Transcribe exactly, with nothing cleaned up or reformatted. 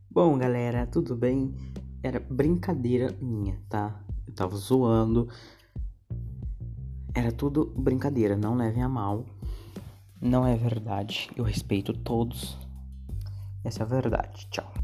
Bom, galera, tudo bem? Era brincadeira minha, tá? Eu tava zoando. Era tudo brincadeira, não levem a mal. Não é verdade. Eu respeito todos. Essa é a verdade. Tchau.